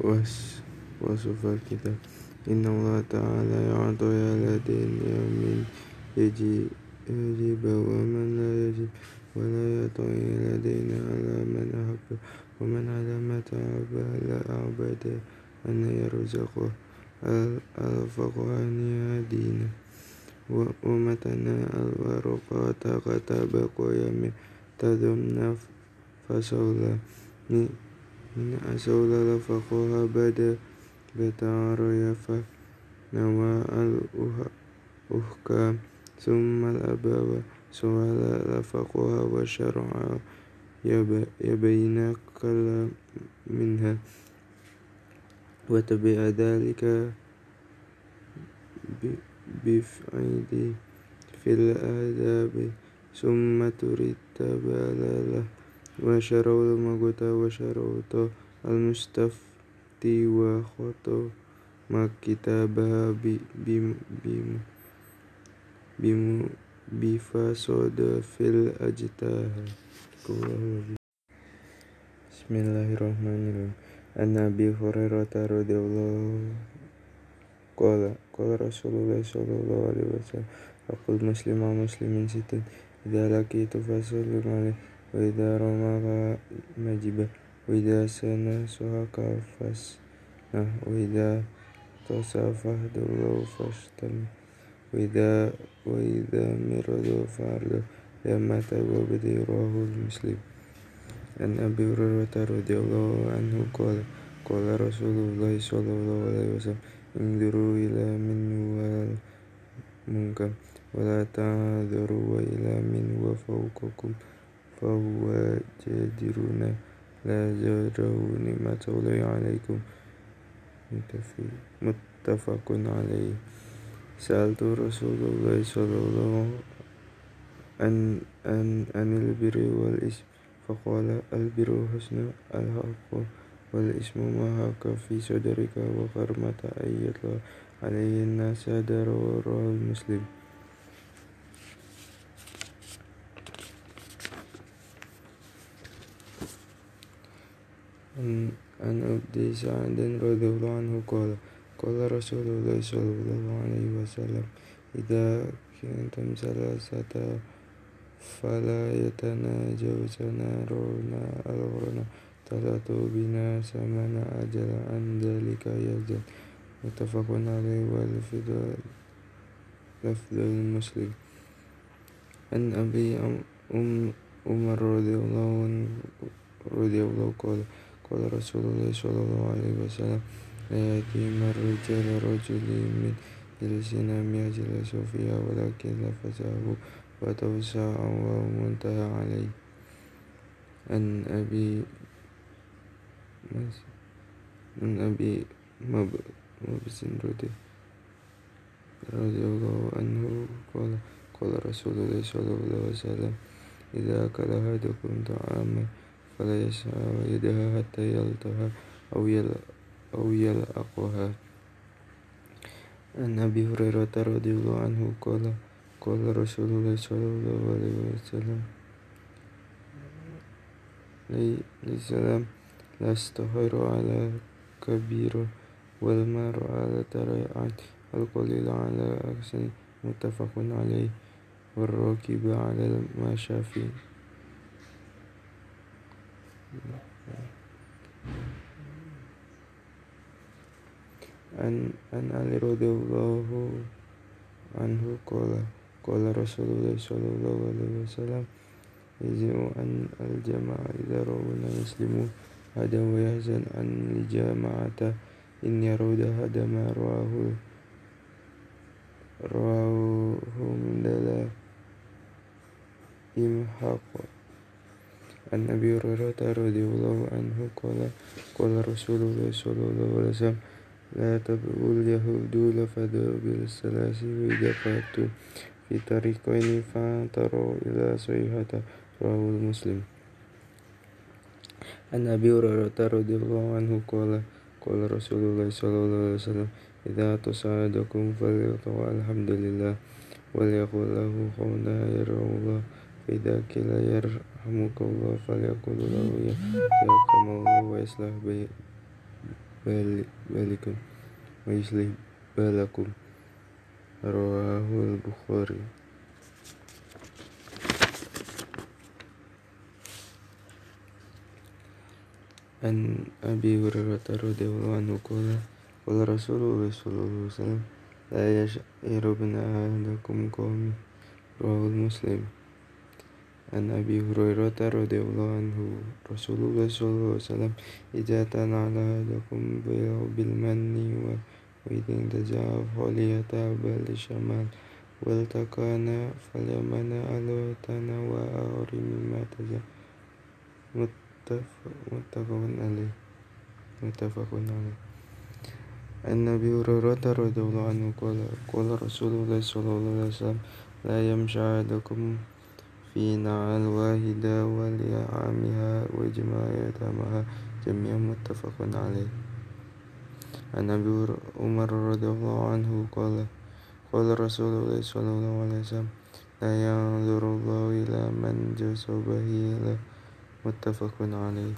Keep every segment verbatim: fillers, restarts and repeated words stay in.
was وصف الكتاب إن الله تعالى يعطي الذين من يجي يجيب ومن لا يجيب ولا يعطي الذين على من أحب ومن على ما تعب العبد أن يرزقه الفقه أن يهدينا ومتنا الورقات كتب قيم تذمنا فصولا من أصول الفقه بدا بتعرف نوى الأحكام ثم الأبواب سؤال الفقه والشرع يبين كل منها وتبع ذلك بفعل في الآداب ثم ترتب له وشروط المقت وشروط المستفتي وخطو ما كتابها بفساد في الأجتهاد. بسم الله الرحمن الرحيم. عن أبي هريرة رضي الله قال قال رسول الله صلى الله عليه وسلم أقول مسلم مسلم ست إذا لقيت فسلم عليه وإذا رماك مجبه وإذا سنسهك فاسنه وإذا تصافحت له فاشتم وإذا وإذا مرض فارض لما توبدي رواه المسلم. عن أبي هريرة رضي الله عنه قال قال رسول الله صلى الله عليه وسلم انظروا إلى من والمنكر ولا تعذروا إلى من وفوقكم فهو جديرون لا جروا نعمة الله عليكم متفق عليه. سألت رسول الله صلى الله عن عن عن البر والإثم فقال البر حسن الحق والإثم ما حاك في صدرك وكرمة أن يطلع عليه الناس رواه المسلم. عن عن أبي سعد رضي الله عنه قال قال رسول الله صلى الله عليه وسلم إذا كنتم ثلاثة فلا يتناجون رونا الغرنا تلاتوا بنا ثمن أجل عن ذلك يزداد متفق عليه واللفظ لفظ المسلم. عن أبي عمر رضي الله عنه رضي الله قال قال رسول الله صلى الله عليه وسلم لا يأتي الرجال رجل من جلسنا يجلس فيها ولكن لفظه وتوسع ومنتهى عليه. عن أبي عن أبي مبس رضي الله عنه قال قال رسول الله صلى الله عليه وسلم إذا أكل أحدكم طعاما فلا يسعى يدها حتى يلتها أو أو يلأقها. عن أبي هريرة رضي الله عنه قال قال رسول الله صلى الله عليه وسلم الإسلام لا يستهر على كبير والمار على تريعات القليل على أحسن متفق عليه والراكب على المشافي. عن عن علي رضي الله عنه قال قال رسول الله صلى الله عليه وسلم يجزئ عن الجماعة إذا رأونا مسلمون هذا ويحزن عن الجماعة إن يرود هذا ما رواه رواه من دلا إمحاق. عن أبي هريرة رضي الله عنه قال قال رسول الله صلى الله عليه وسلم لا تبغوا اليهود لفظوا بالثلاث وإذا فاتوا في طريقين فانطروا إلى صيحة رواه المسلم. عن أبي هريرة رضي الله عنه قال قال رسول الله صلى الله عليه وسلم إذا تصعدكم فليقل الحمد لله وليقل له قولا يرحم الله فإذا قيل يرحمك الله فليقل له يرحمك الله ويصلح bali- balikum wa yuslih balakum. Rawahul Bukhari. An Abi Hurairah radhiyallahu anhu qala qala Rasulullah sallallahu alaihi wasallam la yash'irubna ahadakum qawmi. Rawahul Muslim. An Abi Hurairah radhiyallahu anhu Rasulullah sallallahu alaihi wasallam idza tanala ahadakum bil manni wa idza taja'a falyatabal shamal wal takana falyamana ala tanawa mimma taja muttafaqun alaih muttafaqun alaih. An Nabi Hurairah radhiyallahu anhu qala qala Rasulullah sallallahu alaihi wasallam la yamshi ahadukum fi na'al wahida wal ya'amiha wa jama'atamaha jami'an muttafaqun alaih. An Nabi Umar radhiyallahu anhu qala qala Rasulullah sallallahu alaihi wasallam la yanzurullahu ila man jasabahi la muttafaqun alaih.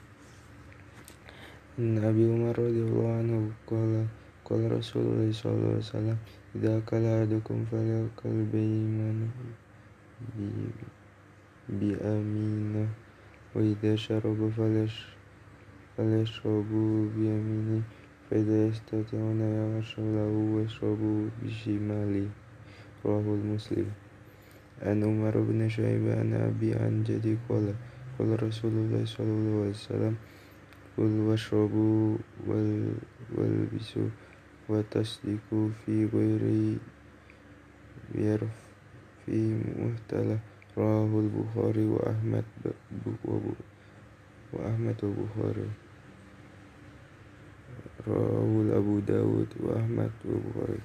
An Abi Umar radhiyallahu anhu qala qala Rasulullah sallallahu alaihi wasallam idza kala ahadukum falyakul biman bi bi aminah wa idza syaraba falyash falyashrabu bi yamini fa idza yastati'una yashrabu washrabu bi shimali. Rawahul Muslim. An Umar bin Shu'aib an Abi an Jadi qala qala Rasulullah sallallahu alaihi wasallam kul washrabu wal walbisu wa tasdiku fi ghairi biar fi muhtalah. Rawahul Bukhari wa Ahmad wa Ahmad wa Bukhari. Rawahul Abu Dawud wa Ahmad wa Bukhari.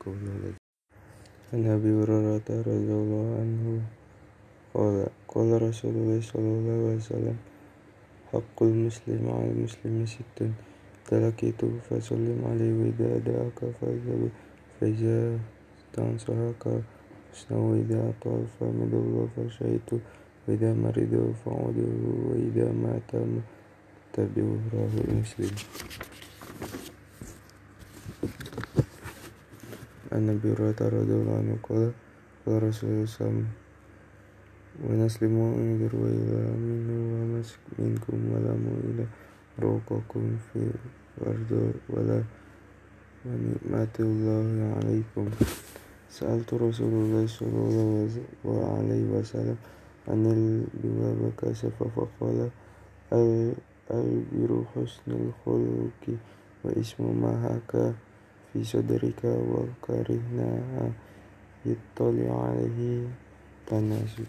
An Abi Hurairah radhiyallahu anhu qala qala Rasulullah sallallahu alaihi wasallam haqqul muslim 'alal muslimi sittun talaqitu fa sallim alaihi wa idza da'aka fa'idhu fa idza tansahaka husna wa idza atafa midallah fa syaitu wa idza maridu fa'uduhu wa idza mata tabi'u. Rawahul Muslim. An Nabi radhiyallahu anhu qala qala Rasulullah sallallahu wa naslimu indir wa ila minhu wa mask minkum wa lamu ila ruqakum fi wardu wa la wa ni'matullahi alaikum. Sa'altu Rasulullah sallallahu alaihi wasallam anil biwaba kasafa faqala al al-biru husnul khuluqi wa ismu ma haka fi sadrika wa karihna yittali alaihi tanasu.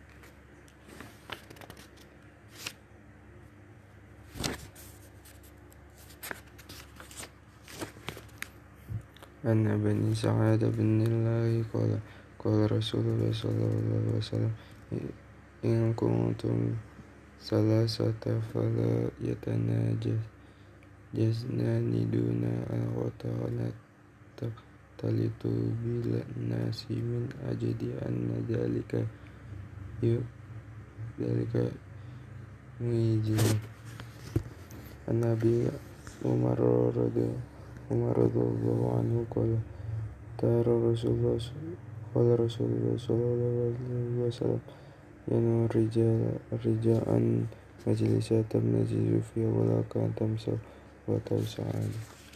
An Bani Sa'ad bin Nillahi qala qala Rasulullah sallallahu alaihi wasallam in kuntum salasata fala yatanajas jasnani duna al-wata'ala talitu bil nasi min ajdi anna dalika yu dalika muijin. An Nabi Umar radhiyallahu Umar radhiyallahu anhu qala tara Rasulullah qala Rasulullah sallallahu alaihi wasallam yanu rijal rijaan majlisatan najizu fi wala kan tamsa wa tawsa'al.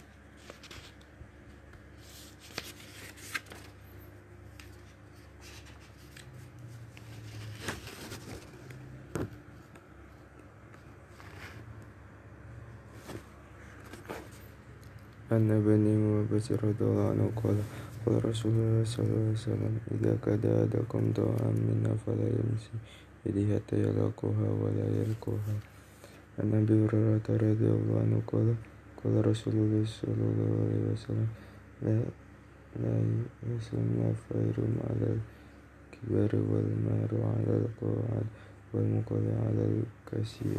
An Bani Muhammad radhiyallahu anhu qala qala Rasulullah sallallahu alaihi wasallam idza kada adakum ta'am minna fala yamsi yadihi hatta yalqaha wa la yalqaha. An Nabi Hurairah radhiyallahu anhu qala qala Rasulullah sallallahu alaihi wasallam la la yasma khairun 'ala al-kibari wal maru 'ala al-qa'ad wal muqali 'ala al-kasir.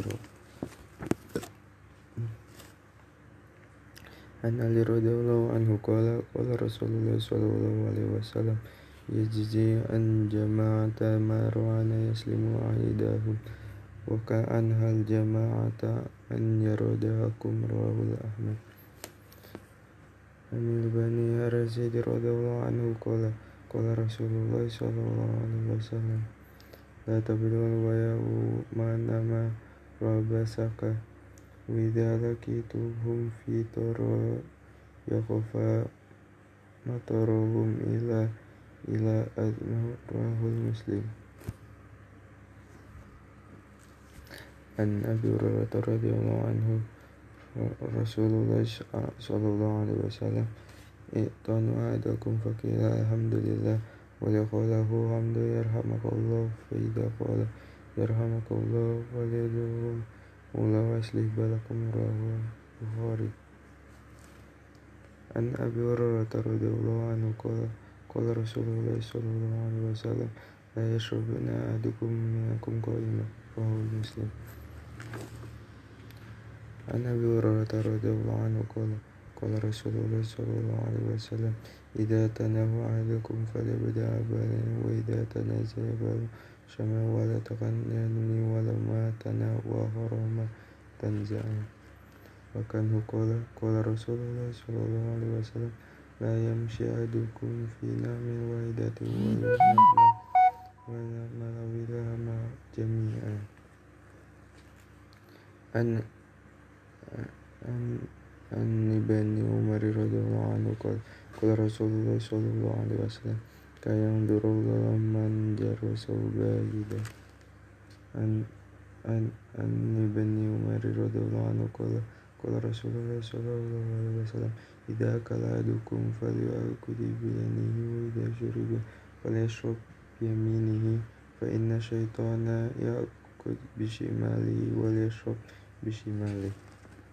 An Ali radhiyallahu anhu qala qala Rasulullah sallallahu alaihi wasallam yajzi an jama'ata marwana yaslimu aidahum wa ka'an hal jama'ata an yaradakum. Rawahul Ahmad. Anil Bani Harazid radhiyallahu anhu qala qala Rasulullah sallallahu alaihi wasallam la tabdul wa ya'u manama rabasaka wa idza lakituhum fi tara yaqfa mataruhum ila ila admurahul muslim. An Abi Hurairah radhiyallahu anhu Rasulullah sallallahu alaihi wasallam i'tanu ahadakum faqila alhamdulillah wa yaqalahu hamdu yarhamakallah fa idza qala yarhamakallah wa yadhum ula waslih balakum rawahu Bukhari. An Abi Hurairah radhiyallahu anhu qala qala Rasulullah sallallahu alaihi wasallam la yashrabuna ahadukum minkum qa'iman rawahu Muslim. An Abi Hurairah radhiyallahu anhu qala qala Rasulullah sallallahu alaihi wasallam idza tanahu ahadukum falyabda balan wa idza tanazaya bal syama wa la taqannani wa la ma tanawa harama tanza'a. Wa kan qala qala Rasulullah sallallahu alaihi wasallam la yamshi ahadukum fi namin wahidatin wa yusnabna wa la malawilaha ma jami'an. An An An Ibni Umar radhiyallahu anhu qala qala Rasulullah sallallahu alaihi wasallam kayang durullah man jarra saubahida. An An An Ibni Umar radhiyallahu anhu qala qala Rasulullah sallallahu alaihi wasallam idza akala ahadukum falyakul bi yaminihi wa idza shuriba falyashrab bi yaminihi fa inna syaitana ya'kul bi shimalihi wa yashrab bi shimalihi.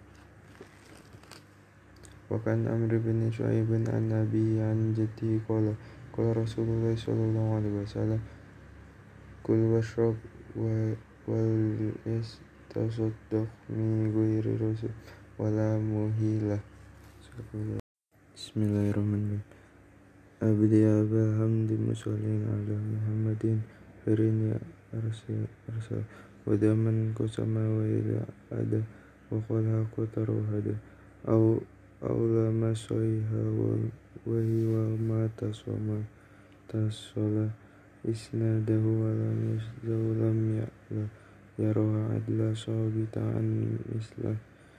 Wa kan Amr bin Shu'aib an Nabi an jaddi qala qala Rasulullah sallallahu alaihi wasallam kul washrab wa wal yastasaddaq min ghairi rasul wala muhilah. Bismillahirrahmanirrahim. Abdi abal hamdi musallin ala Muhammadin firini arsa arsa wa daman kusama wa ila ada wa qala qataru hada au aula masoiha wa hiwa ma tasoma tasola isnadahu wa lam yasdawlam ya'la yaroha adla sahibatan islah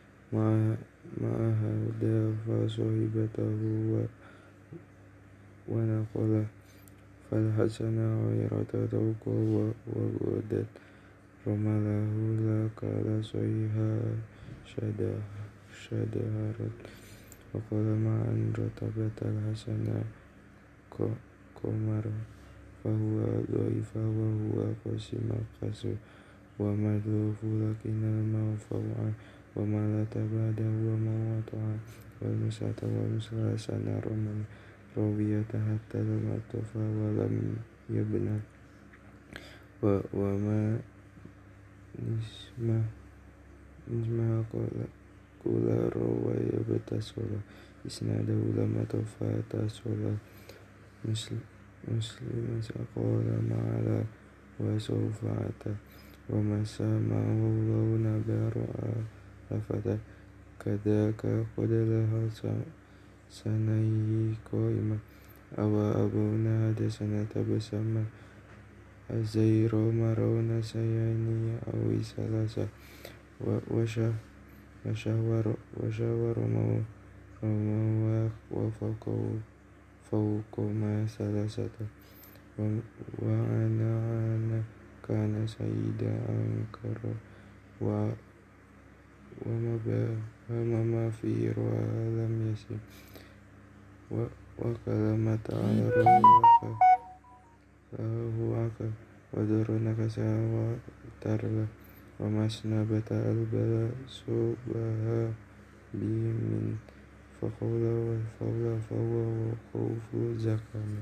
ma'ahada fa sahibatahu wa wa naqala fal hasana ghairata tawqa wa wadat ramalahu la kala soiha syadah syadaharat wa qala ma'an ratabatal hasana qamar fahuwa dhaifa wa huwa qasima qasu wa madhufu lakina ma'fa'a wa malata ba'da wa ma'ata'a wal musata wa muslasana roman rawiyata hatta lam atofa wa lam yabna wa wa ma nisma nisma qala kula rawaya batasola isnadahu lama tafata sola muslim muslim saqala ma'ala wa sawfa'ata wa masama wallahu nabaru afata kadaka qadalaha sanayi qaima awa abuna hada sanata bersama azairo marona sayani awi salasa wa washa wasyawar wasyawar mau mau wa faqau fauqa ma salasata wa wa ana ana kana sayyida ankara wa wa ma ba ma ma fi wa lam yasim wa wa kalamata ala rawaka huwaka wa darunaka sawa tarla wa masna bata albala subaha bimin faqawla wa fawla fawwa wa khawfu zakama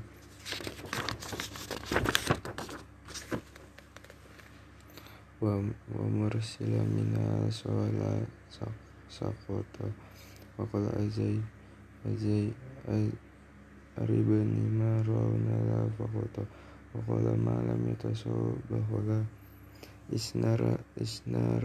wa wa mursila mina sawala saqota wa qala azai azai aribani ma rawna la faqota wa qala ma lam yatasabahu la isnara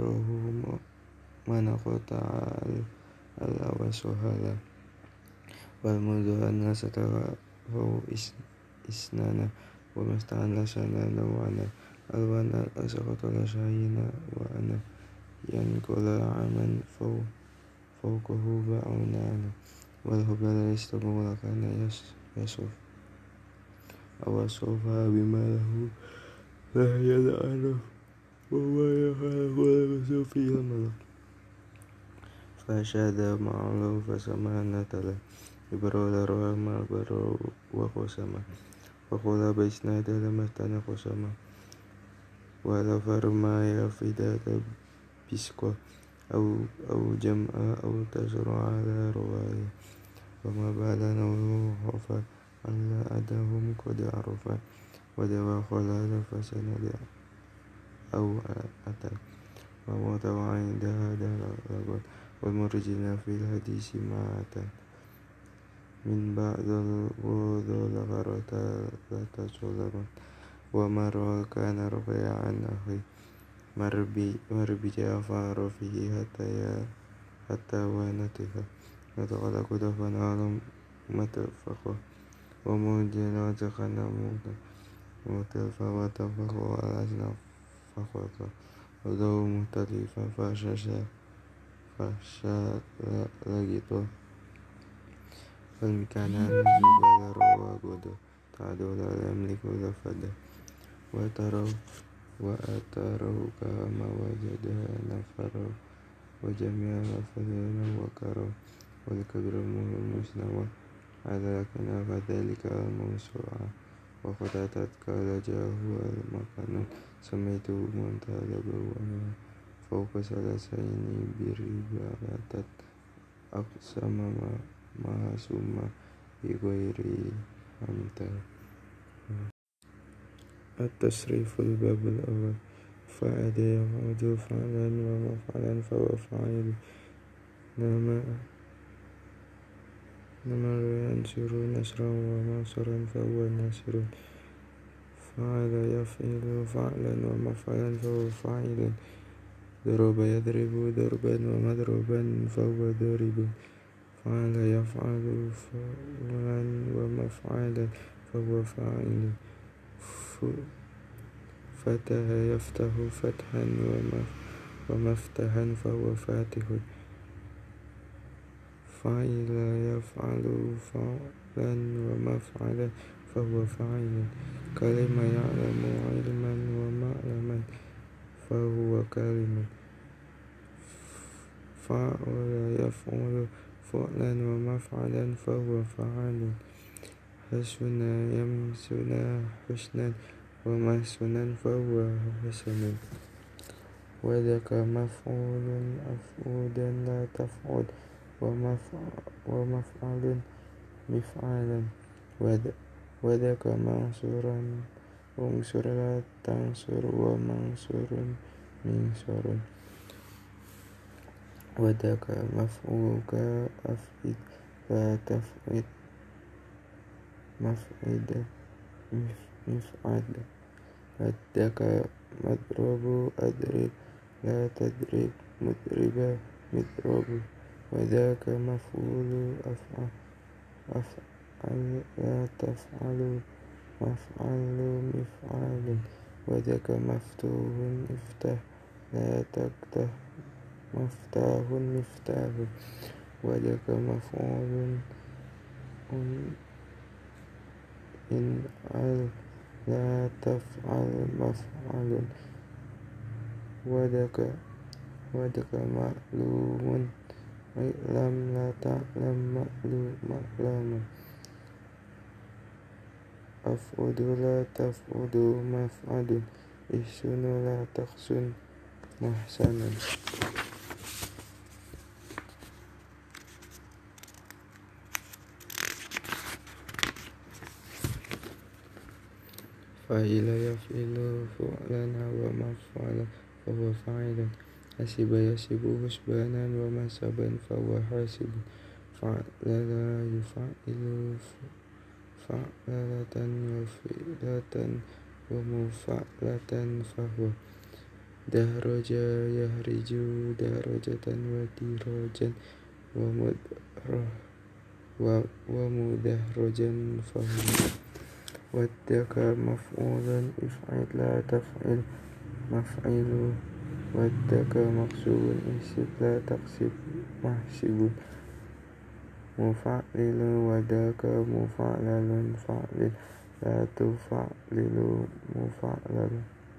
isnaruhu manaqata al al awasuhala wal mudhanna satara fau is isnana wa masta'an la sanana wa ana alwana asaqata la shayina wa ana yanqula aman fau fawqahu ba'unana wal hubala istamula kana yas yasuf awasofa bima lahu la yal'anu wa ma yakhafu al-sufi al-malak fashada ma'alahu fasamana tala ibarola roha ma'baro wa qasama wa qula baisna dalam mastana qasama wa la farma ya fidata bisqa au au jam'a au tasra ala rawaya wa ma balana wa khafa alla adahum qad arafa wa dawa khalala fasanada au atal wa mutawa'in dahada lagot wal murjina fil hadisi ma'atan min ba'dal wudhu lakarata lata sulaman wa marwa kana ruqya'an akhi marbi marbi ja'far fihi hatta ya hatta wa natifa nataqala kudafan alam matafaqwa wa mujina takana muta mutafa wa tafaqwa alasna faqwa wa dawu mutalifa fashasha fasha lagi tuh falmikana nuzubala rawa godo ta'adola lamliku lafada wa taraw wa ataraw kama wajada nafaraw wa jami'a lafadana wa karaw wal kabramu musnawa ala kana fadhalika al-mawsu'a wa qatatat kala jahu al-makanu samaitu muntalabu wa fawqa salasaini biribaratat aqsama mahasuma bighairi amtal at-tasriful babul awal fa'ada ya'udu fa'lan wa maf'alan fa wa fa'il nama nama yansuru nasran wa mansuran fa wa nasirun fa'ala yaf'ilu fa'lan wa maf'alan fa wa fa'ilun daraba yadribu darban wa madruban fa huwa daribun fa'ala yaf'alu fa'lan wa maf'alan fa huwa fa'ilun fataha yaftahu fathan wa maf wa maftahan fa huwa fatihun fa'ila yaf'alu fa'lan wa maf'alan fa huwa fa'ilun kalima ya'lamu ilman wa ma'laman fa huwa kalimun fa'ala yaf'alu fa'lan wa maf'alan fa huwa fa'alun hasuna yamsuna husnan wa mahsunan fa huwa hasanun wa dhaka maf'ulun af'udan la taf'ud wa maf'a wa maf'alun mif'alan wa dhaka mansuran unsur la tansur wa mansurun minsurun wa dhaka maf'uka af'id la taf'id maf'ida mif'ad wadaka madrubu adrib la tadrib mudriba midrubu wadaka maf'ulu af'al af'al la taf'alu maf'alu mif'alun wadaka maftuhun iftah la taktah maftahun miftahun wadaka maf'ulun in al la taf'al maf'alun wadaka wadaka ma'lumun lam la ta'lam ma'lum ma'lamun af'udu la taf'udu maf'adun ihsunu la taqsun mahsanan fa'ila yaf'ilu fu'lan wa maf'ala fa huwa fa'ilun hasiba yasibu husbanan wa masaban fa huwa hasibun fa'lala yuf'ilu fa'lalatan wa fi'latan wa mufa'latan fa huwa dahraja yahriju dahrajatan wa dirajan wa mudrah ومدحرجا فهم ودك مفعولا افعل لا تفعل مفعل ودك مقصود احسب لا تقسب محسب مفعل وداك مفعلل فعلل لا تفعلل مفعلل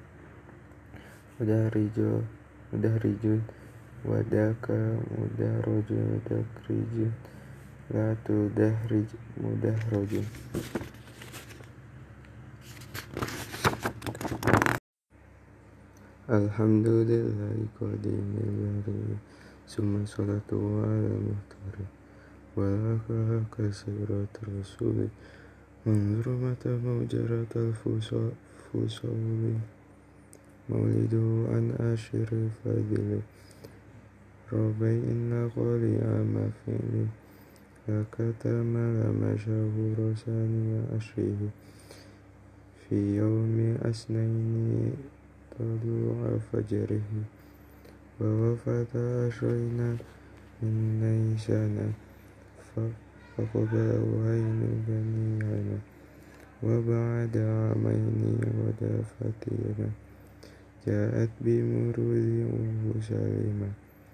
مدحرج مدحرج وداك مدحرج دكرج لا تدحرج مدحرج. الحمد لله قديم البرية ثم صلاته على المختار ولاك كسيرة الرسول انظر متى موجرة الفصول مولده عن أشر فاضل ربيع النقل عام فعل فكتم لما شهور ثاني أشره في يوم اثنين طلوع فجره ووفاة عشرين من نيسان فقبله عين بني هنا وبعد عامين غدا فتينا جاءت بمرود أم سلمة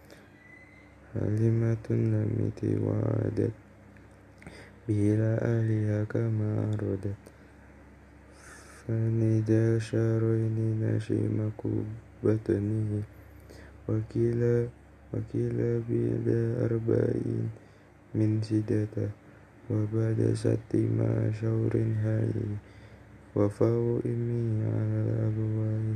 حليمة لمت وعادت به إلى أهلها كما عرضت فندى شهرين نشيم بطنه وكلا وكلا بلا أربعين من سدته وبعد ست مع شهر هائل وفاه إمي على الأبواب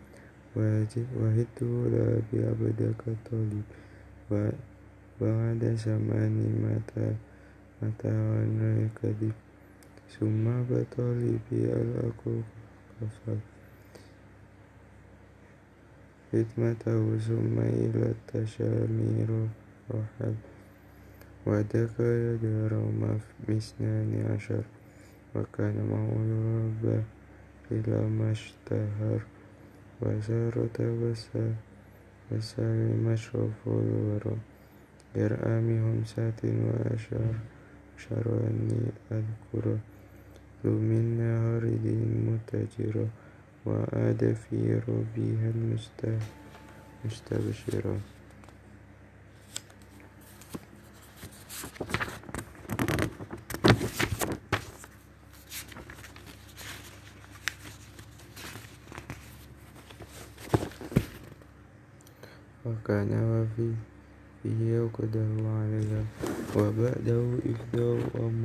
وهدت لا بعبدك طالب بعد زمان متى متى وانا كذب ثم بطالبي الأكوف كفر خدمته ثم إلى التشامير رحل ودك يدار اثنان عشر وكان معه الرب إلى ما اشتهر وسار تبسل وسلم أشرف الورى يرأى بخمسة وأشار أشار أني أذكر ذو من نهر دين متجرا وعاد في ربها المستبشرا. وكان وفي فيه يوقده عليها وبعده إفداء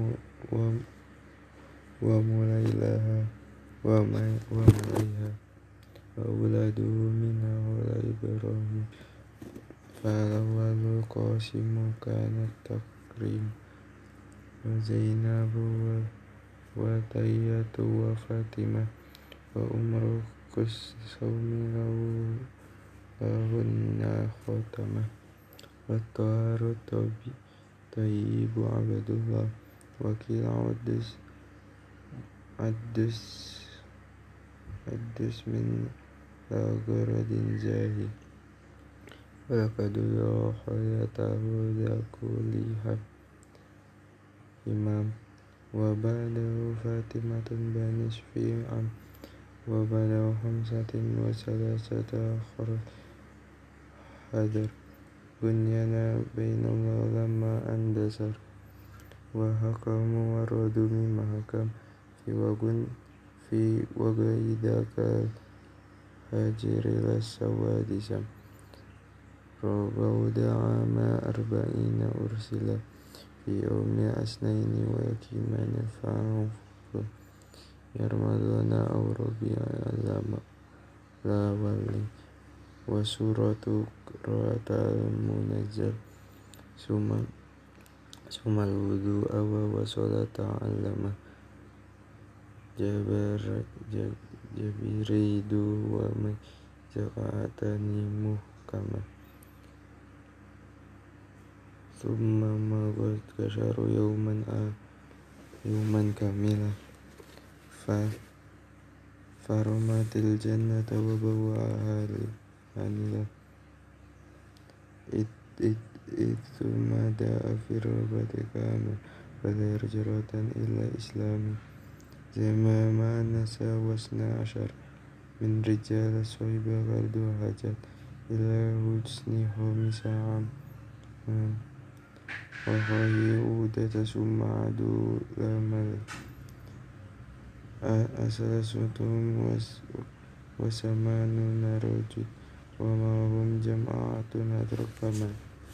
ومليلها ومليها وأولاده منها ولا إبراهيم فالأول القاسم كان التكريم وزينب وتية وفاطمة وأمر كلثوم لهن خاتمة والطاهر الطيب عبد الله وكيل عدس عدس عدس من لا غرض زاهي ولقد يرى حياته ذا كلها إمام وبعده فاطمة بنصف عام وبعده خمسة وثلاثة آخر حذر بنينا بين الله لما اندثر وحكم ورد مما حكم في وجن في وجه ذاك الهاجر للسواد سم ربود عام أربعين أرسل في يوم اثنين ويكيمان فانفر يرمضان أو ربيع لا ولي وسورة قراءة المنزل ثم ثم الوضوء وصلاة علم جبريد ومن جقعتني محكمة ثم مضت كشر يوما يوما كاملا فرمت الجنة وبوأها هنيئا إذ ثم داء في الربة كامل فلا هجرة إلا إسلامي زمان نسى واثنا عشر من رجال صيب غرد هجت إلى حسن خمس عام وخي عودة ثم عدو لمل أسلستهم وثمانون رجل وما هم جماعة أدرك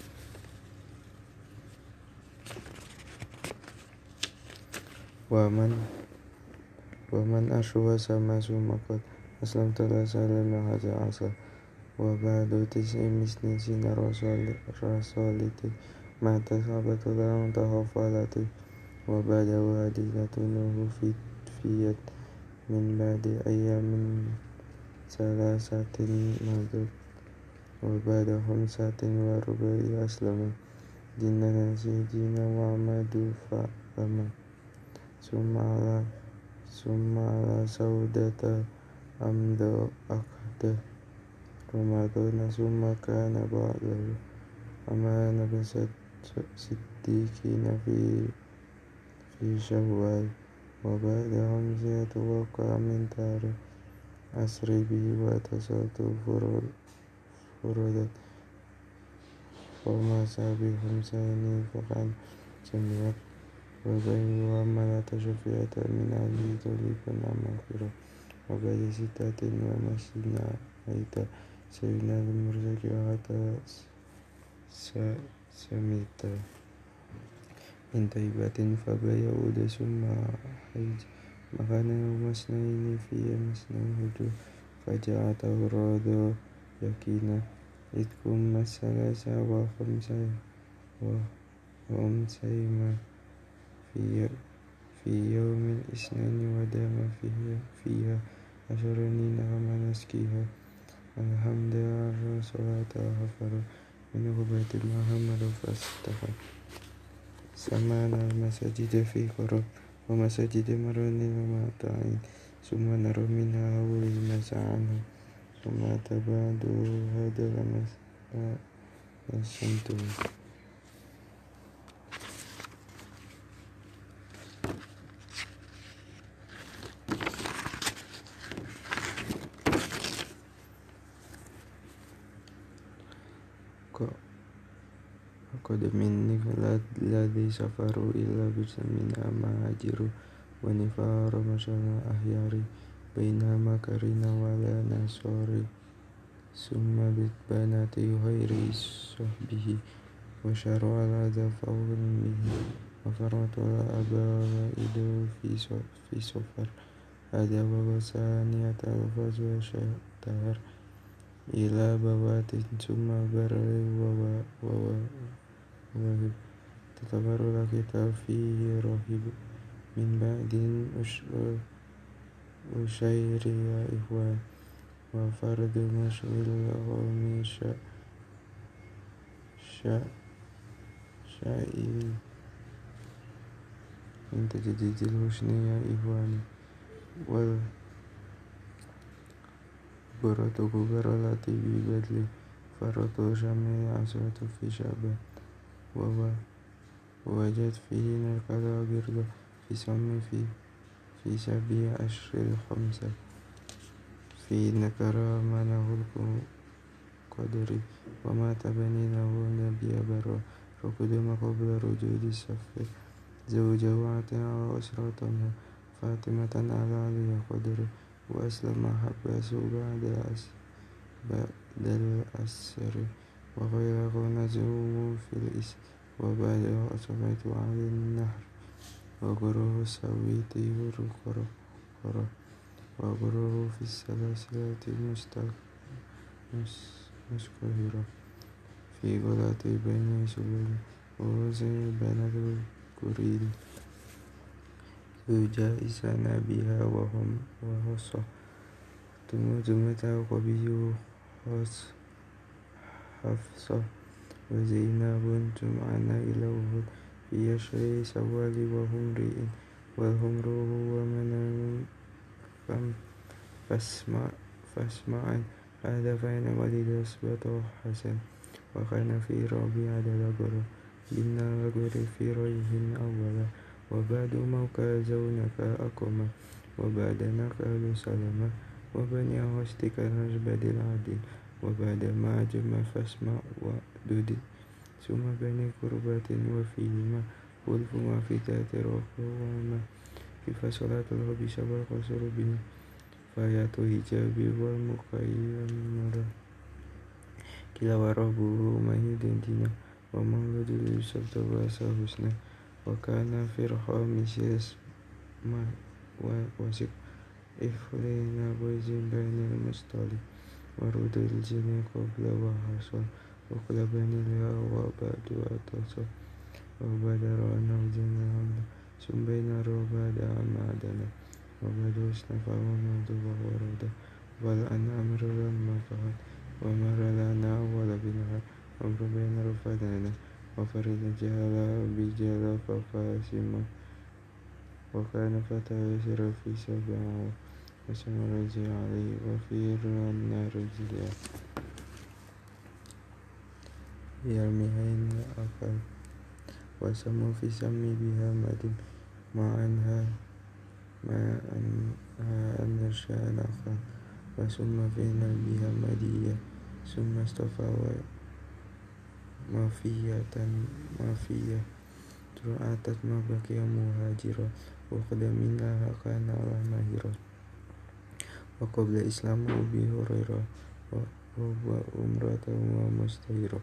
ومن ومن أشوى سما ثم قد أسلمت لا سلم هذا عسى وبعد تسع سنين رسالتي مع تصابت لهم تغفلتي وبعد وادلته في فيت من بعد أيام ثلاثة مضت وبعد خمسة وربع أسلم دين سيدنا محمد فأما ثم على ثم على سودة أمد أقده رمضان ثم كان بعده أما نبسط صديقين في في شوال وبعد خمسة وقع من تاريخ أسري به واتصلت فرودت وما سابي خمسين فقد سمعت وبين وعملت شفيعة من أهله طلبا مغفرة وبعد ستة ومسجدنا أيتا سيدنا المرزق وحتى سميت من طيبة فبيعود ثم حج مكان يوم اثنين في مسنى هجو فجاءته الرضا يكينا إذ كم الثلاثة وخمسة وخمسين في في يوم الاثنين ودام فيها فيها عشرين نعم نسكيها الحمد لله صلاة غفر منه بيت محمد فاستغفر سمعنا المساجد في قرب ومساجد مرن ومطاعين ثم نرى منها أول المسعى عنه ثم تبعد هذا المسجد قد مني الذي سفروا إلا بسمين أما هاجروا ونفار مشنا أحياري بينما كرنا ولا نصاري ثم بنات غير صحبه وشرع الأذى فوق به وفرط الأبا وإدو في سفر هذا وثانية الفاظ وشتهر إلى بوات ثم بر ووهب تتبر الكتاب فيه راهب من بعد أشير يا إخوان وفرد مشغل القوم شائل من تجديد الحسن يا إخواني والبرة كبر التي ببدل فرط شمع عصوة في شعبه ووجد فيه نقل برد في سم في في سبع أشهر الخمسة في نكر منه القدر ومات بني له نبي برا فقدم قبل رجود السفر زوجه عتها وأسرته فاطمة على علي قدر وأسلم حباس بعد بعد الأسر وغيره نزوه في الإسر وبعد أصبت على النهر وغره سويته القرى وغره في السلاسل المستقهرة في غلط بني سليم ووزن بنات الكريل يجائزنا بها وهم وهصة ثم قبي حفصة وزينب جمعنا إلى وهد في يشري سوال وهم رئ والهم روح ومن فاسمع فاسمعا هذا فإن ولد أثبت حسن وكان في ربيع دلقر بالنار في ريه أولا وبعد موقع زونك أقوما وبعد نقل سلما وبني هستك نجبد العدل وبعد ما جم فاسمع ودد ثم بني كربات وفيهما ولف وفي ذات رقوما كيف صلاة الغبي شبر قصر بنا فايات هجابي والمقيم كلا وربه مهيد دينا ومولد يوسف تواسى حسنا وكان في الخامس يسمع وسق إفرين بوز بين المستطيل ورود الجن قبل وحصل وقل بني الهوى وبعد أتصل وبدر نوزن عمل ثم بين وبعد معدنا وبعد اصطفى ومعد وورد والأنعام لما فعل ومر لنا أول بالعد ومر بين رفدنا وفرد جهل بجهل فقاسم وكان فتى يسر في سبعه وسمى رجل عليه وفي النار رجلها يرميهن أقل وسموا في سم بها مدم مع أنها مع أنها أن الشان أخا وسم في نبيها مدية ثم اصطفى مافية مافية أتت ما بقي مهاجرا وقدم لها كان على ماهرا وقبل إسلام أبي هريرة وأمرته ومستهيرة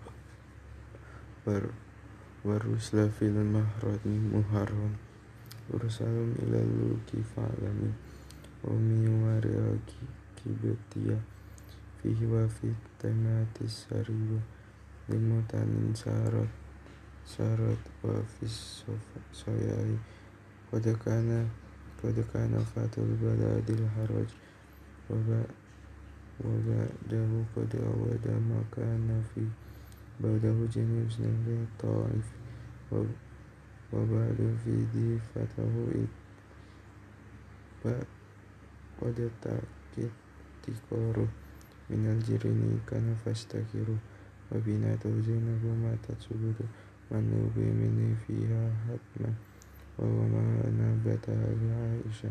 والرسل في المهرة محرم ورسلهم إلى الملك فعلم ومن وراء كبتية فيه وفي التمات السرية لمتن سارت سارت وفي الصياح قد كان قد كان فات البلاد الحرج وبعده قد أود ما كان في بعده جميع سنين الطائف وبعد في ذي فتح قد تكتكار من الجرين كان فاستكر وبناته زينب ماتت سبت من نوبي مني فيها حتما وهو ما نبتها لعائشة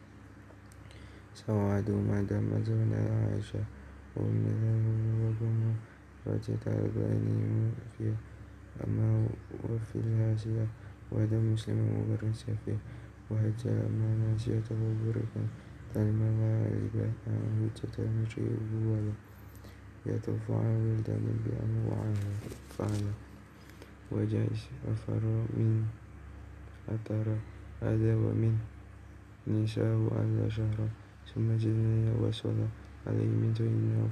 سواد ما دام زون عائشة ومثله وقم رجت البني فيها أما وفي الهاشية وهذا مسلم مبرس فيه وهجى ما ناسيته بركا تلما لا ربا هجة المشي ولا يطوف على ولدان بأنواعها فعلا وجائز أفر من فترة هذا ومن نساء على شهر ثم جنيا وصلى عليه من زين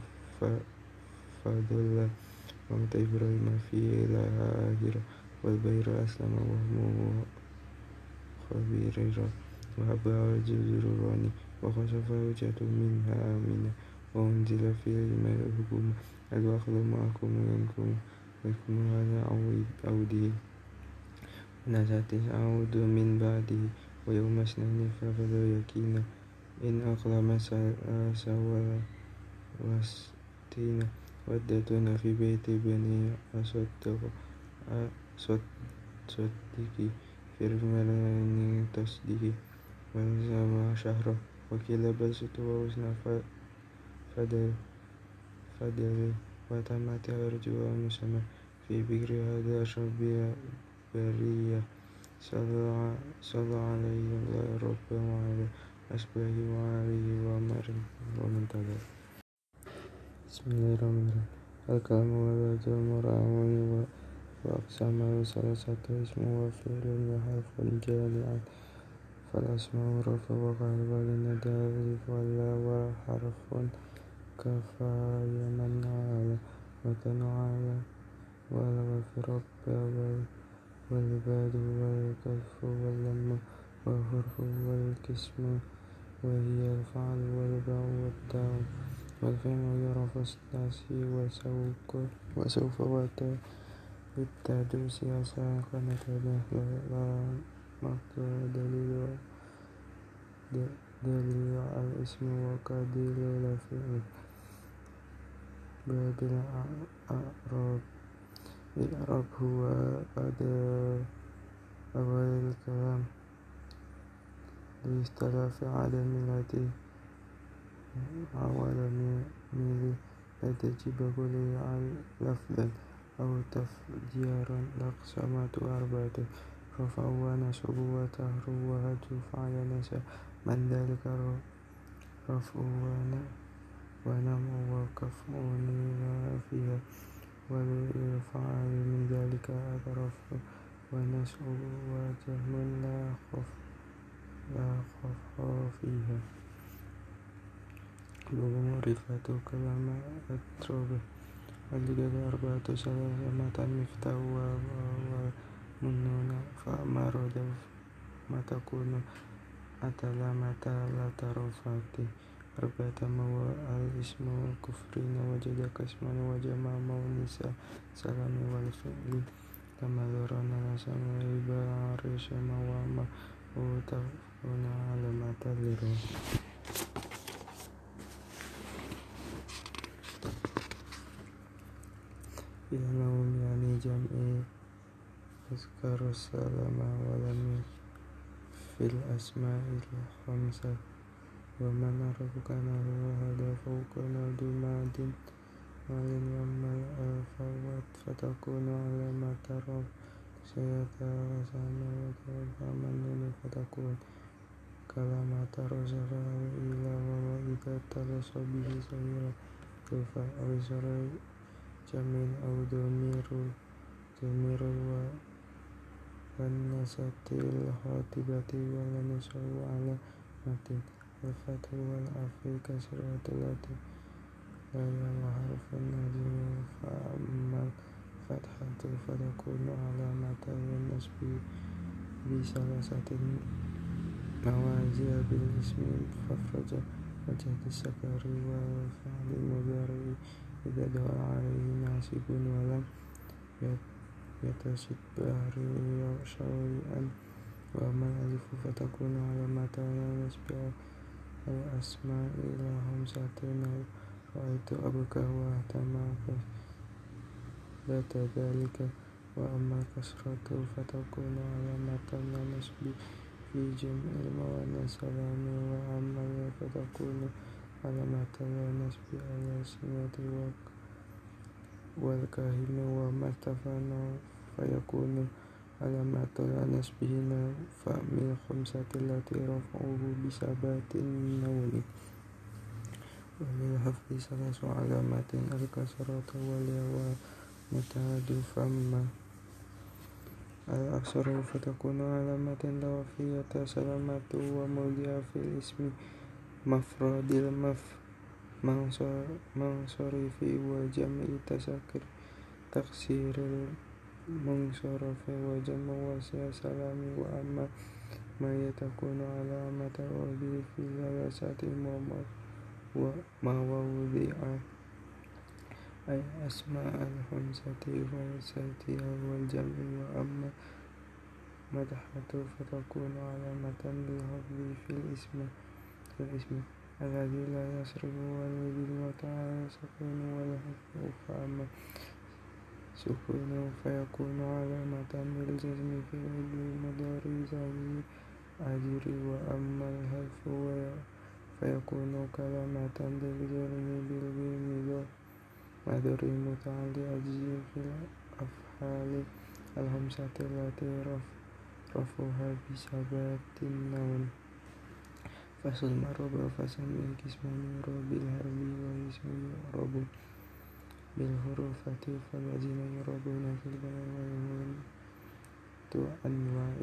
فضل ومت إبراهيم فيه لها آخرة والبير أسلم وهمه خبيرا وهبها الجزراني وخسف وجهته منها آمنة وأنزل في الماء الحكومة الوخل معكم منكم ويكون هذا عوده ونزعت عود من بعده ويوم اثنين ففضل يكينا إن أقلم سوى وستين ودتنا في بيت بني أصدق صدقي في الملان تصدقي ونزم شهره وكلا بسط ووزن فدل فدل وتمت أرجو مسمى في بكر هذا أشرب برية صلى عليه الله رب وعلى أسبه وعليه ومن تبع. بسم الله الرحمن الرحيم. الكلام والوجه المرعون وأقسامه ثلاثة اسم وفعل وحرف جامع فالأسماء رفع وقلب للندى ألف ولا وحرف كفاية من على وكان على والغف رب والباد والكف واللم والحرف والكسم وهي الفعل والباء والتاء والفعل يعرف الثلاثي وسوف وتا بالتدوس ساكنة لا مقدور دليل دليل على الاسم وكدليل الفعل باب الأعراب الإعراب هو أداة أول الكلام لاختلاف عدم التي عوالم لا تجب كلها لفظا أو تفجيرا. الأقسامات أربعة: رفع ونصب وجر وهجر فعل نسب من ذلك رفع ونمو وكفء فيها والفعل من ذلك رفع ونصب وجزم لا خفء فيها. معرفة كلام أتربه الجد أربعة: ثلاثة متى مفتاح ومنون فأما ردف ما تكون أتلا متى لا ترفعت. أربعة ما هو الاسم كفرين وجدك اسما وجمع مونسا سلام والفعل كما ذرنا لسما ربا عرش وما وتكون على متى لرو. يوم يعني جمع أذكر السلام ولم في الأسماء الخمسة. ومن عرف كان هو هذا فوق دماد مال وما الأفوات فتكون علامة رفع سيترسم وترفع فتكون كلمة رسل إلى وإذا ترس به سيرا ترفع رسل جميل أو ضمير ضمير والنسة الخاطبة والنسب على متن الفتح والعفو كسرة التي لا يعرف النجم. فأما الفتحة فتكون علامة النسب بثلاثة موازي بالاسم فافرج وجه السكر والفعل المضارع إذا دخل عليه ناصب ولم يتصل بحر شيئا. وأما الألف فتكون علامة النسب الأسماء إلى خمسة رأيت أبوك واهتم فثبت ذلك. وأما الكسرة فتكون علامة النسب في جمع المؤنث سلام. وأما الياء فتكون علامة النسب على السنة والكاهن. وما ارتفعنا فيكون علامة النسب هنا فمن الخمسة التي رفعه بثبات النون. وللحفظ ثلاث علامات: الكسرة والياء والمتعد. فأما الأكثر فتكون علامة لوفية سلامة وموضع في الاسم مفرد المنصرف وجمع تذكر تقصير المنصرف وجمع وسع سلام. وأما ما تكون علامة الوضع في ثلاثة مواضع أي أسماء الخمسة والستة والجمع. وأما مدحة فتكون علامة للحفظ في الاسم الاسم الذي لا يصرف والذي المتعال سكون والحفظ. فأما سكون فيكون علامة للجزم في المضارع زي أجر. وأما الحذف فيكون كلمة للجرم بالجيم مدر متعلق أجزي في الأفعال الخمسة التي رفعها بثبات النون. فصل المعرب فسمي قسمان يعرب بالهاء واسم يعرب بالحروف فالذين يعربون في البلاء ويهون أنواع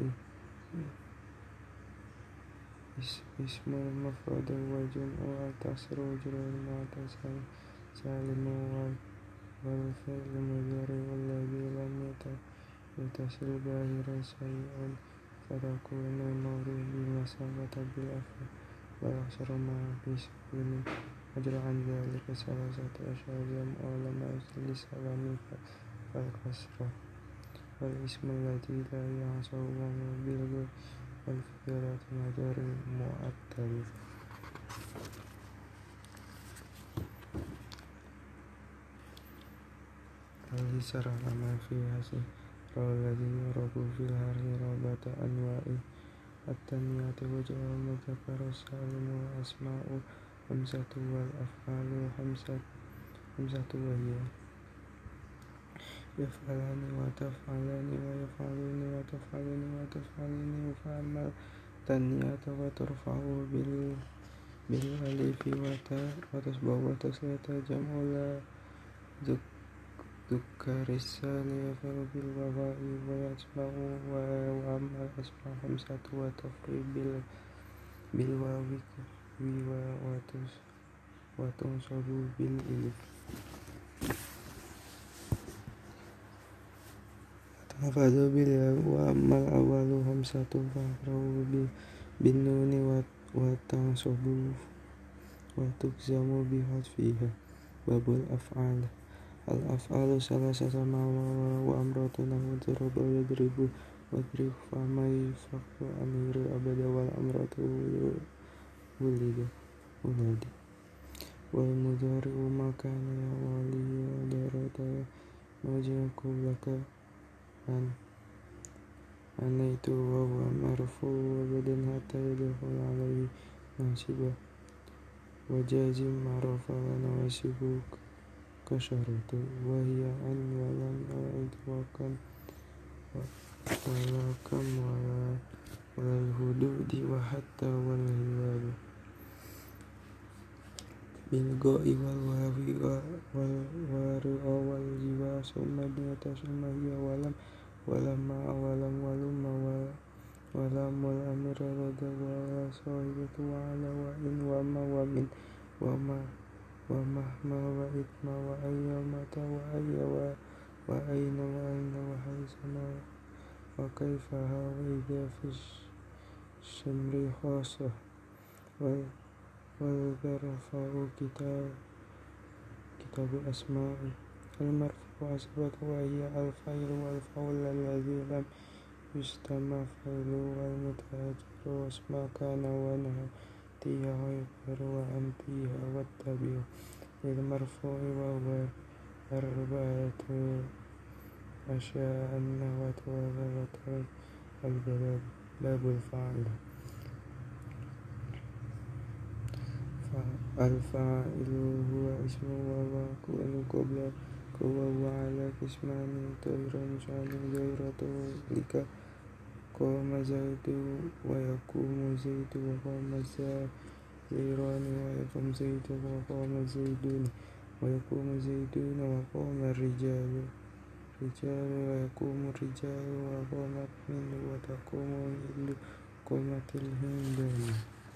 اسم المفرد وجمع التصر وجر المعتصم سالم والفعل المضارع والذي لم يتصل باهر شيء فتكون المعروف بمثابة بالأفعال والأكثر مع بسكون. أجر عن ذلك ثلاثة أشهر جمع علماء لسلام فالكسرة والاسم الذي لا يحصل بالغ والفعل مضارع مؤتل. اليسر على ما في حسن روى الذي يرب في الهرم ربة أنواع التنمية وجاء المذكر السالم والأسماء خمسة والأفعال خمسة خمسة وهي يفعلان وتفعلان ويفعلون وتفعلون وتفعلين فأما التنمية وترفع بال بالألف وتاء وتصبح وتسلية جمع لا ذكر السالم يفعل بالوفاء ويتبع وأما الأسماء خمسة وتفريق بالواو وتنصب بالألف تحفظ بالياء وأما الأول خمسة فأقرأ بالنون وتنصب وتجزم بحذفها. باب الأفعال. الأفعال ثلاثة وأمرة نحو ضرب يضرب واضرب فما يفعل أمير أبدا والأمرة ولد ولد والمضارع ما كان يوالي ودارت وجهك لك أن أنيت وهو مرفوع وبدا حتى يدخل عليه ناصبه وجازم معروف ونواسب كشرط وهي أن ولم أعد وكم ولا كم ولا ولا الهدود وحتى والهواب بالغاء والواو والواو والجوا ثم دية ثم هي ولم ولما ولم ولم ولم والأمر رد وصاحبة وعلى وإن وما ومن وما ومهما وإثما وأيمة وأي وأين وأين وحيثما وكيفها وإذا في الشمر خاصة والذرفع كتاب كتاب الأسماء المرفوع أثبت وهي الفاعل والفعل الذي لم يستمع فعله والمتأجر واسم كان ونهتيها ويقر وأنتيها والتابع للمرفوع وهو أربعة أشياء النحو والرتب البلد. باب الفاعل. الفاعل هو اسم ويكون قبل وهو على قسمان طير شان غير طولك قام زيد ويقوم زيد وقام الزائران ويقوم زيد وقام الزيدون ويقوم زيدون وقام الرجال رجال ويقوم الرجال وقامت الهند وتقوم الهند قامت الهندان.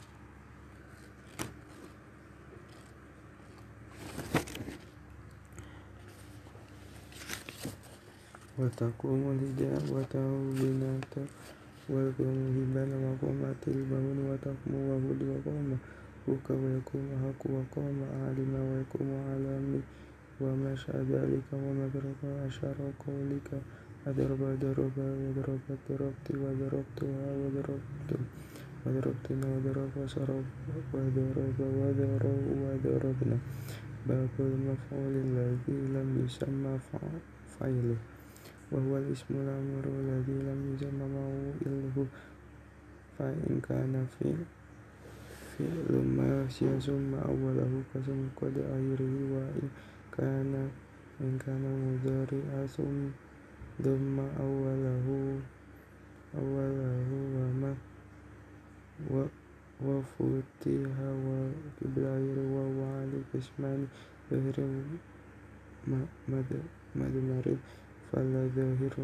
وتقوم الهداء وتهبنات ويقوم هبان وقامت البون وتقوم وهود وقام بك ويقوم حق وقام عالم ويقوم عالمي ومشى ذلك ومدرك أشار قولك أضرب ضرب وضربت ضربت وضربتها وضربت وضربتنا وضرب صرف وضرب وضرب وضربنا. باب المفعول الذي لم يسمى فاعله وهو الاسم الأمر الذي لم يسمى موئله فإن كان فعل ماشي ثم أوله قسم قد آخره وإن كان إن كان مضارع ثم ضم أوله أوله وما وفتح وكبر وهو على قسمان ظاهر مدمر فلا ظاهر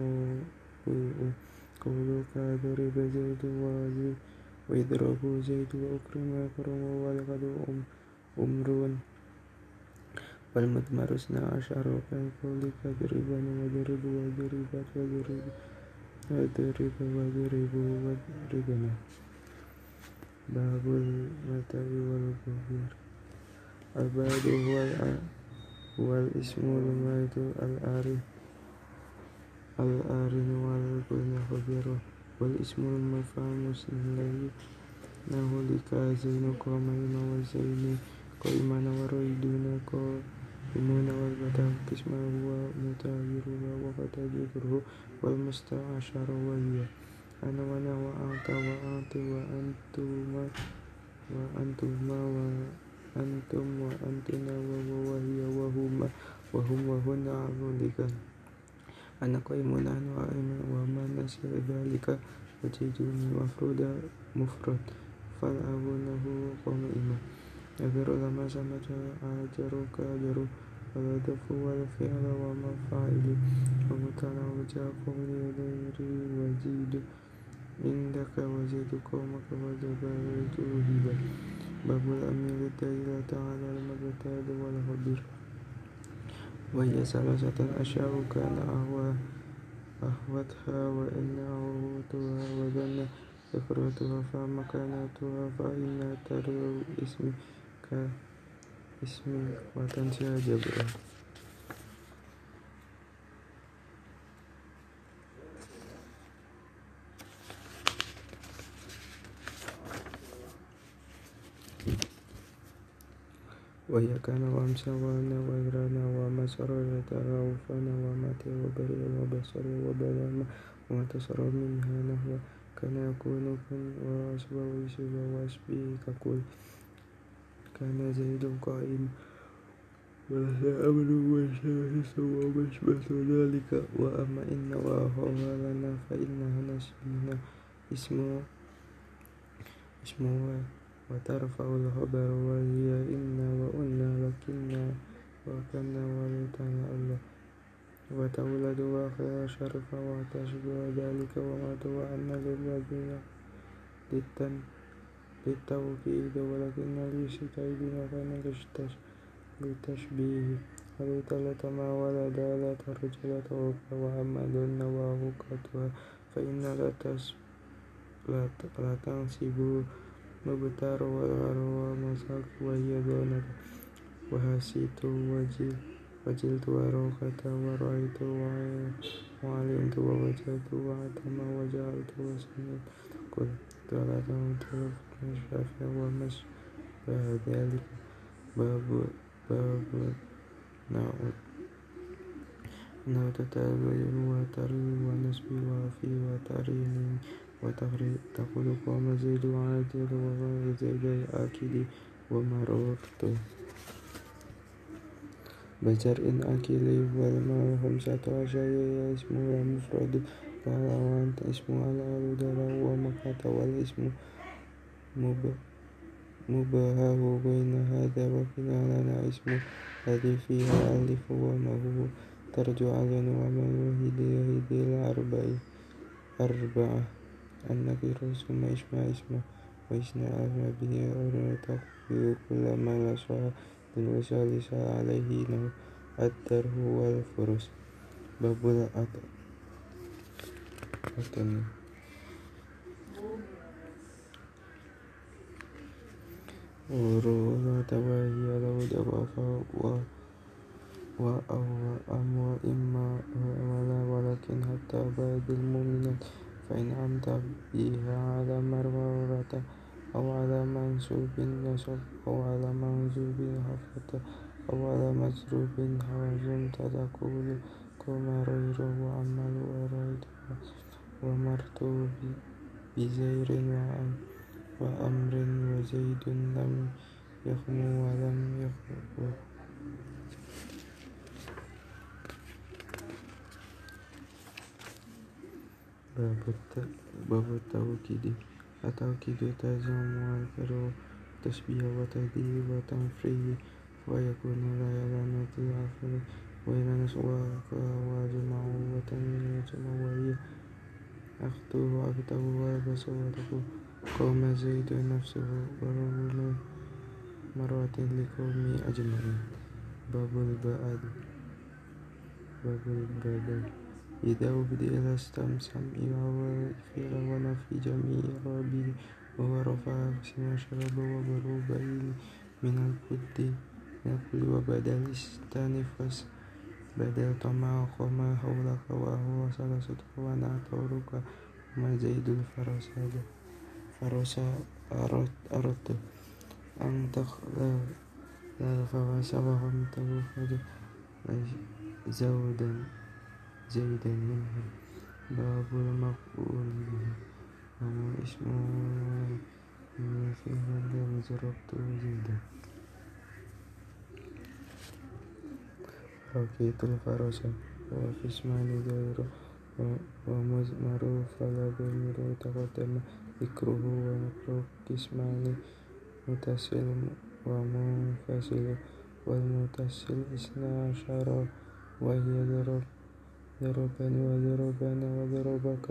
قولك ضرب زيد ويضرب زيد وأكرم ويكرم ولقد أمر والمدمر اثنا عشر كقولك ضربا وضرب وضربت وضرب وضرب وضرب وضربنا. باب المتى والظهير. البعد هو هو الاسم الميت العارف العارف والكل خبيره والاسم المفهم الذي نحو لك زين قائما وزين قائما وريدون المون والبتاء قسمه ومتاجرها وفتاجره والمستعشر وهي أنا وأنا وأنت وأنت وأنتما وأنتما وأنتم وأنتنا وهو وهي وهما وهم وهن ذلك أنا قائم نحن قائم وما نسي ذلك وجدني مفرود مفرد فالأبونه قائما أجر لما سمت أجرك أجر ولا دف ولا فعل وما فاعل ومتنا وجاء قولي غيري وزيد عندك وزيد قومك وجبرت هبا باب الأمير الدليل تعالى المبتاد والخبير وهي ثلاثة أشياء كان أهوى أهوتها وإن أهوتها وظن ذكرتها فمكانتها فإن ترى اسم كاسم وتنسى جبرها وهي كان وامسى وانا وغرانا وما سرر تراوفنا وماتي وبرئ وبصر وبلما وما تصرف منها نحو كان يكون كن وأصبح ويسب وأسبه تقول كان زيد قائم ولها أمر وشاهس ومشبه ذلك وأما إن وأخوها لنا فإنها نسبنا اسمه اسمه وترفع الخبر وهي إنا وأنا لكنا وكنا ولتنا الله وتولد وآخر شرف وتشبه ذلك وما وأن للذين للتوكيد ولكن للشتائبين كان للتشبيه ولتلت ما ولد لا ترجل توقع وأما دون وهكتها فإن لا تنسب مبتر والغرو ومساك وهي دونك وهسيت وجل وجلت وروكة ورأيت وعلمت ووجدت وعتم وجعلت وسمعت قل ثلاثة تلفنا الشافع ومش ذلك باب باب نعود نعود تتابع وتري ونسبي وفي وتريني وتغري تقول قوم زيد وعادل وغير زيد أكيد ومررت بجر إن أكيلي والما خمسة عشر اسمه مفرد قال وأنت اسمه على الهدى ومكة والاسم مبهاه بين هذا وكنا لنا اسم الذي فيها ألف وما هو ترجع على ومن وهدي هدي الأربع أربعة النكر ثم اسمع اسمه وإسنا أسمى به أولا تقبل كل ما نصح وسالس عليه نو الدره والفرس باب الأطن ورولة وهي لو دفع وأم وإما ولا ولكن حتى بعد المؤمنات فإن أمت بها على مرورة أو على منصوب نصب أو على منصوب حفظ أو على مجروب حوزن تقول كما رير وعمل وريت ومرت بزير وأمر وزيد لم يخمو ولم يخمو باب التوكيد التوكيد تزعم والكرو تشبيه وتهديد وتنفريه ويكون لا يلامة العفو وإلى نسواك وجمع وتنمية وهي أخته أخته وبصورته قوم زيد نفسه ورغم مرات لقومي أجمعين باب البعد باب البدل إذا أبدي إلى استمسم إلى فعل ونفي جميع ربه وهو رفع سمع شرب وبروب من البد من الكل وبدل استنفس بدل طمع قوم حولك وهو ثلاثة ونعتورك وما زيد الفرساد فرس أردت أن تخلق لا فوسوهم فجر زودا زيدا منهم باب المقبول به وهو اسمه في هذا ضربت زيدا ركيت الفرس وفي اسمان غيره ومزمر فلا ضمير تقدم ذكره ونقر اسمان متصل ومنفصل والمتصل اثنا عشر وهي ضرب ضربني وضربنا وضربك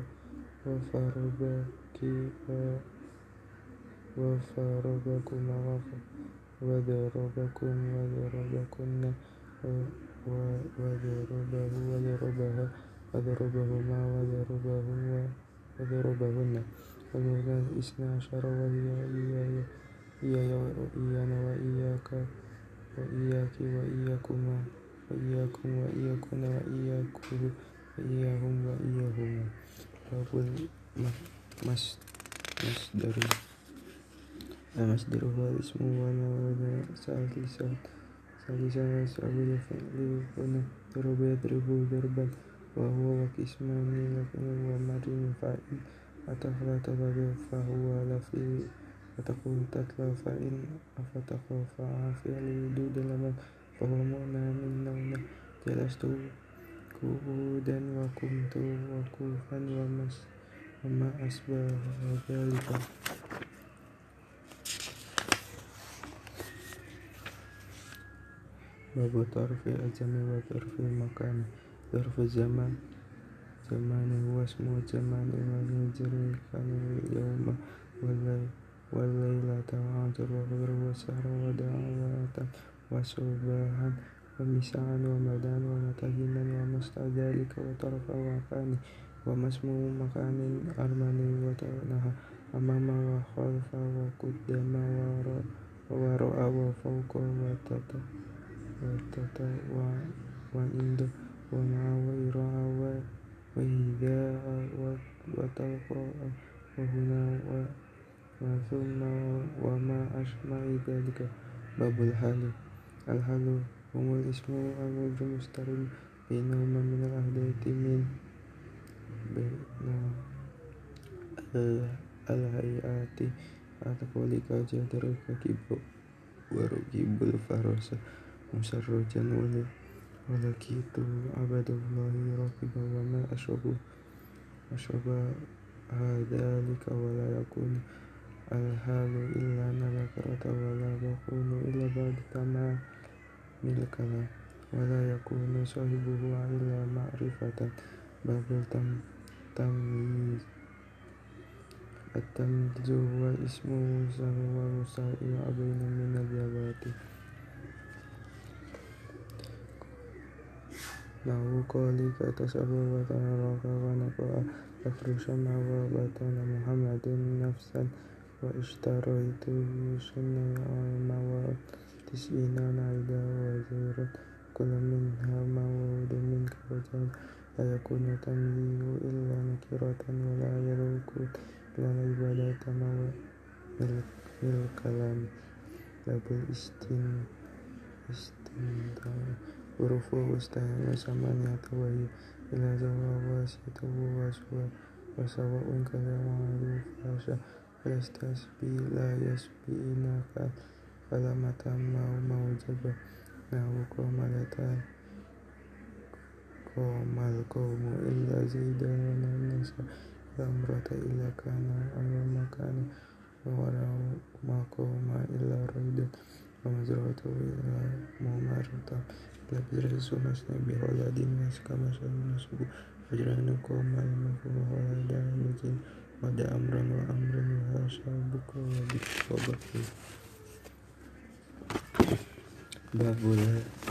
وفربك وفربكما وضربكم وضربكن وضربه وضربها وضربهما وضربهم وضربهن والمثنى اثنا عشر وهي إياي إياي وإيانا وإياك وإياك وإياكما وإياكم وإياكن وإياكه وإياهم وإياهما باب المصدر المصدر هو الاسم والمعنى ثالثا ثالثا يسأل الفعل هنا ضرب يضرب ضربا وهو وقسمان لكن ومرن فإن أتفل تبدو فهو لفي فتقول تتلى فإن أفتقى فعافل دود لمن فهو معنى من نون جلست قعودا وقمت وقوفا وما أشبه ذلك. باب طرف الزمان وطرف المكان. ظرف الزمان زمان هو اسم الزمان المجري كان اليوم والليلة وعصر وغير وسهر ودعوة وصباحا ومساء ومدان ومتهنا ومسط ذلك وطرف مكان وما اسم مكان أرمني وتنهى أمام وخلف وقدام وراء وفوق وتحت وتحت وعند ومع وإراء وإذاء وتلقاء وهنا وثم وما أشبه ذلك. باب الحال. الحال هم الاسم المستقر بينهما من الأحداث من بين الهيئات أتقولك جدرك كيب وركب الفرس مسرجا ولكيت عبد الله راكبا وما أشبه ذلك ولا يكون الحال إلا نكرة ولا يكون إلا بعد تمام الكلام ولا يكون صاحبه إلا معرفة. باب التمييز. التمييز هو اسم وهو مستوى بين من الذوات له قولك تسأل وتراك ونقرأ تفرش ما وبطن محمد نفسا واشتريت شنع مواد تسعين عيدا وزيرت كل منها مواد منك وجل لا يكون تمييز إلا نكرة ولا يكون إلا عبادة مواد الكلام. باب الاستنداء. ورفوع استهام ثمانية وهي إلى زواج واسطة وسواء كذا معروف فاشا فيستسبي لا يسبينك فلما تم موجبة نحو قوملتان قوم القوم إلا زيدا والناس لا امرأة إلا كان أمر كان ولا قوم إلا ريدا ومزرعة إلا ممرة لا بدرس ونسنا بولاد الناس كما سألنا سبو فجرنا قوم المفروض ولدا مجين ودى أمرا وأمرا وهاشا بك وبك وبك. باب لا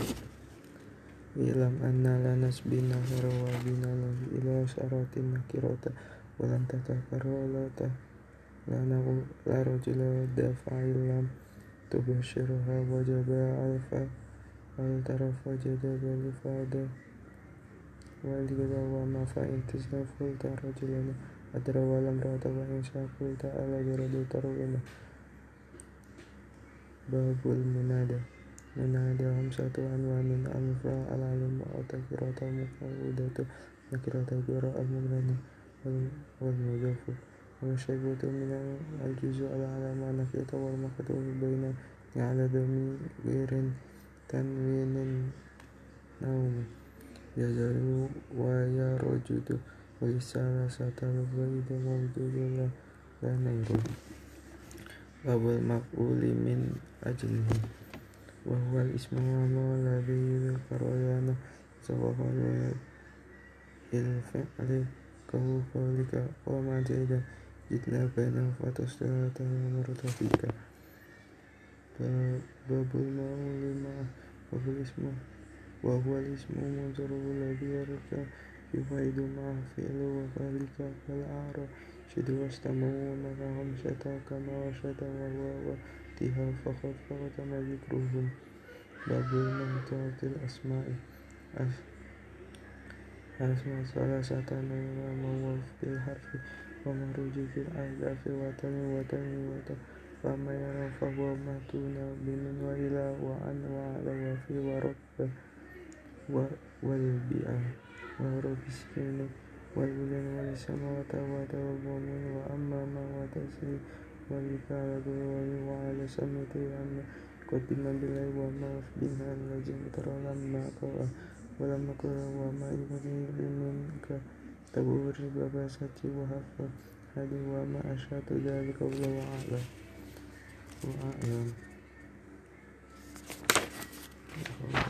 إعلم أن لا نسبي نهر وبنا له إلى شرات نكرة ولن تتكرر ولا لا رجل دافع لم تبشرها وجب ألفا والترف وجدب الفادة والجبا وما فإن تسلف قلت رجلا أدرى ولم رأت وإن شاء قلت ألا جرد ترونا. باب المنادى. من هذا خمسة أنواع من الأفعال العلم والتكرار المقعودة نكرة الجراء المغني والمضاف والمشبوه من الجزء العلم نكرة والمكتوب بين على ضمير تنوين نوم يزال ويرجد والثلاثة البيض موجود لا نير باب المفعول من أجله وهو الاسم الذي يذكر لنا سبق الفعل كقولك وما زيد جئنا بينه فتصلت مرتفقة باب المفعول وهو الاسم وهو الاسم المنصرف الذي يرجع يفيد مع فعل وذلك كالأعراب شد واستمعوا مع خمسة كما وشد وهو واتها فقط فقدم ذكرهم باب المنطقة الأسماء الأسماء ثلاثة نوع موصوف بالحرف ومخروج في الأحذاف وتنوين وتنوين وتنوين فما يرى فهو متون بمن وإلى وعن وعلى وفي ورب والبيئة ورب السكين والبلن والسماوات والمؤمن وأما ما وتسري والكعبة وعلى سمة أما قدم بالله وما بها الذي ترى لما قرأ ولما قرأ وما يبغي منك تبور بباسة وحفظ هذه وما أشهد ذلك والله أعلم وأعلم